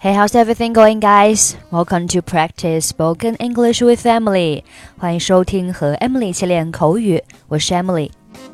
Hey, how's everything going, guys? Welcome to Practice Spoken English with Emily. 欢迎收听和 Emily 一起练口语，我是 Emily。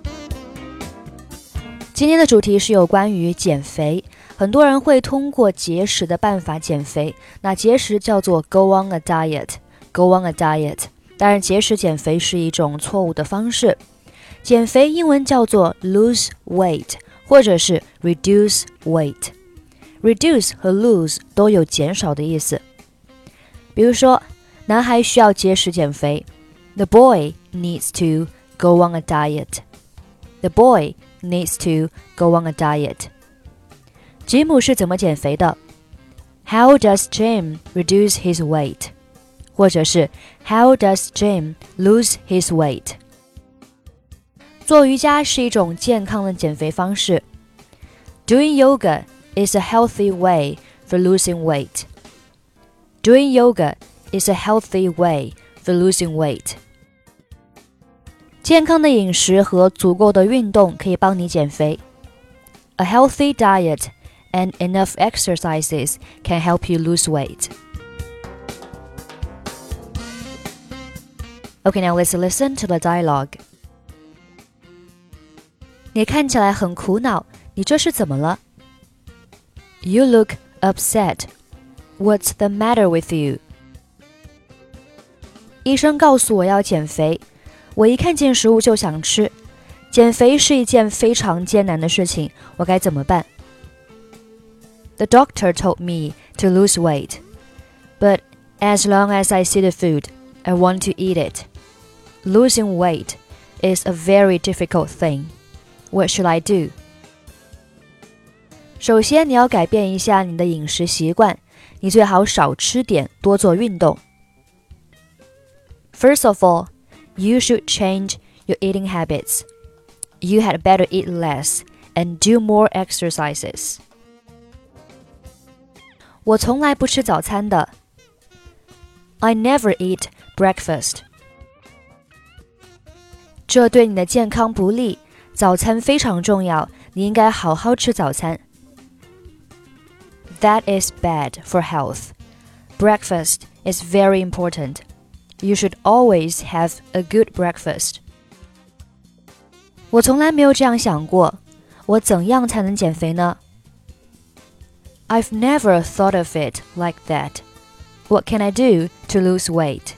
今天的主题是有关于减肥。很多人会通过节食的办法减肥，那节食叫做 go on a diet。go on a diet。当然，节食减肥是一种错误的方式。减肥英文叫做 lose weight， 或者是 reduce weight。Reduce 和 lose 都有减少的意思。比如说，男孩需要节食减肥。The boy needs to go on a diet. The boy needs to go on a diet. 吉姆是怎么减肥的？ How does Jim reduce his weight? 或者是 How does Jim lose his weight? 做瑜伽是一种健康的减肥方式。Doing yoga is a healthy way for losing weight. Doing yoga is a healthy way for losing weight. 健康的饮食和足够的运动可以帮你减肥。A healthy diet and enough exercises can help you lose weight. Okay, now let's listen to the dialogue. 你看起来很苦恼，你这是怎么了？You look upset. What's the matter with you? 医生告诉我要减肥，我一看见食物就想吃。减肥是一件非常艰难的事情，我该怎么办？ The doctor told me to lose weight, but as long as I see the food, I want to eat it. Losing weight is a very difficult thing. What should I do?首先，你要改变一下你的饮食习惯，你最好少吃点，多做运动。First of all, you should change your eating habits. You had better eat less and do more exercises. 我从来不吃早餐的。I never eat breakfast. 这对你的健康不利，早餐非常重要，你应该好好吃早餐。That is bad for health. Breakfast is very important. You should always have a good breakfast. 我从来没有这样想过，我怎样才能减肥呢？ I've never thought of it like that. What can I do to lose weight?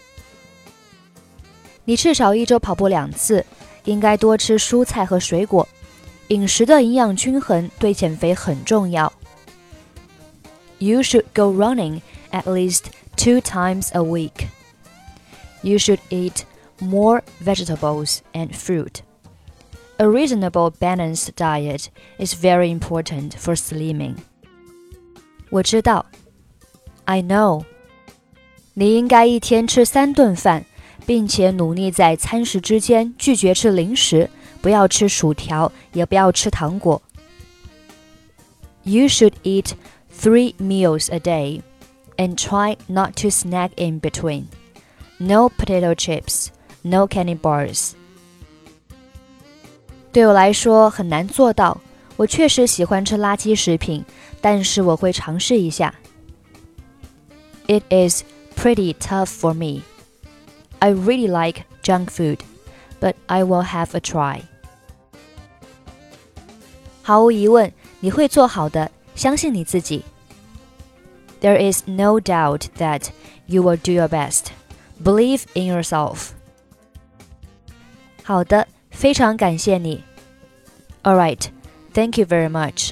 你至少一周跑步2次，应该多吃蔬菜和水果。饮食的营养均衡对减肥很重要。You should go running at least 2 times a week. You should eat more vegetables and fruit. A reasonable balanced diet is very important for slimming. 我知道。I know. 你应该一天吃3顿饭，并且努力在餐食之间拒绝吃零食，不要吃薯条，也不要吃糖果。You should eat 3 meals a day, and try not to snack in between. No potato chips, no candy bars. 对我来说很难做到，我确实喜欢吃垃圾食品，但是我会尝试一下。It is pretty tough for me. I really like junk food, but I will have a try. 毫无疑问，你会做好的，相信你自己。There is no doubt that you will do your best. Believe in yourself. 好的，非常感谢你。All right, thank you very much.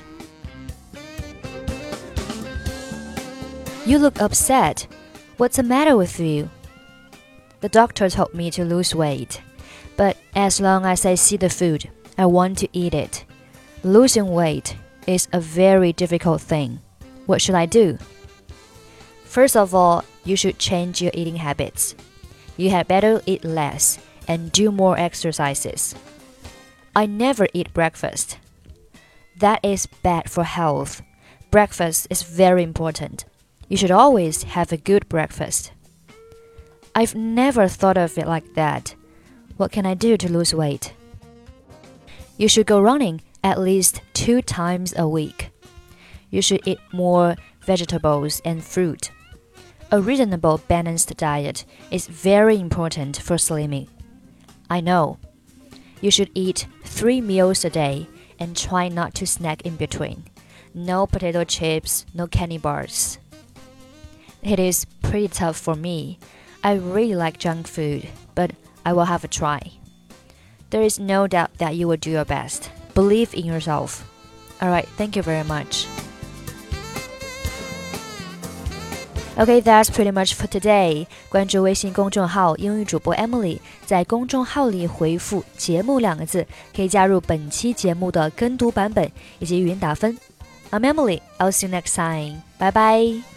You look upset. What's the matter with you? The doctor told me to lose weight, but as long as I see the food, I want to eat it. Losing weight is a very difficult thing. What should I do? First of all, you should change your eating habits. You had better eat less and do more exercises. I never eat breakfast. That is bad for health. Breakfast is very important. You should always have a good breakfast. I've never thought of it like that. What can I do to lose weight? You should go running at least 2 times a week. You should eat more vegetables, and fruit. A reasonable balanced diet is very important for slimming. I know. You should eat 3 meals a day and try not to snack in between. No potato chips, no candy bars. It is pretty tough for me. I really like junk food, but I will have a try. There is no doubt that you will do your best. Believe in yourself. Alright, thank you very much. Okay, that's pretty much for today. 关注微信公众号英语主播 Emily， 在公众号里回复节目2个字，可以加入本期节目的跟读版本以及语音打分。I'm Emily, I'll see you next time. Bye bye.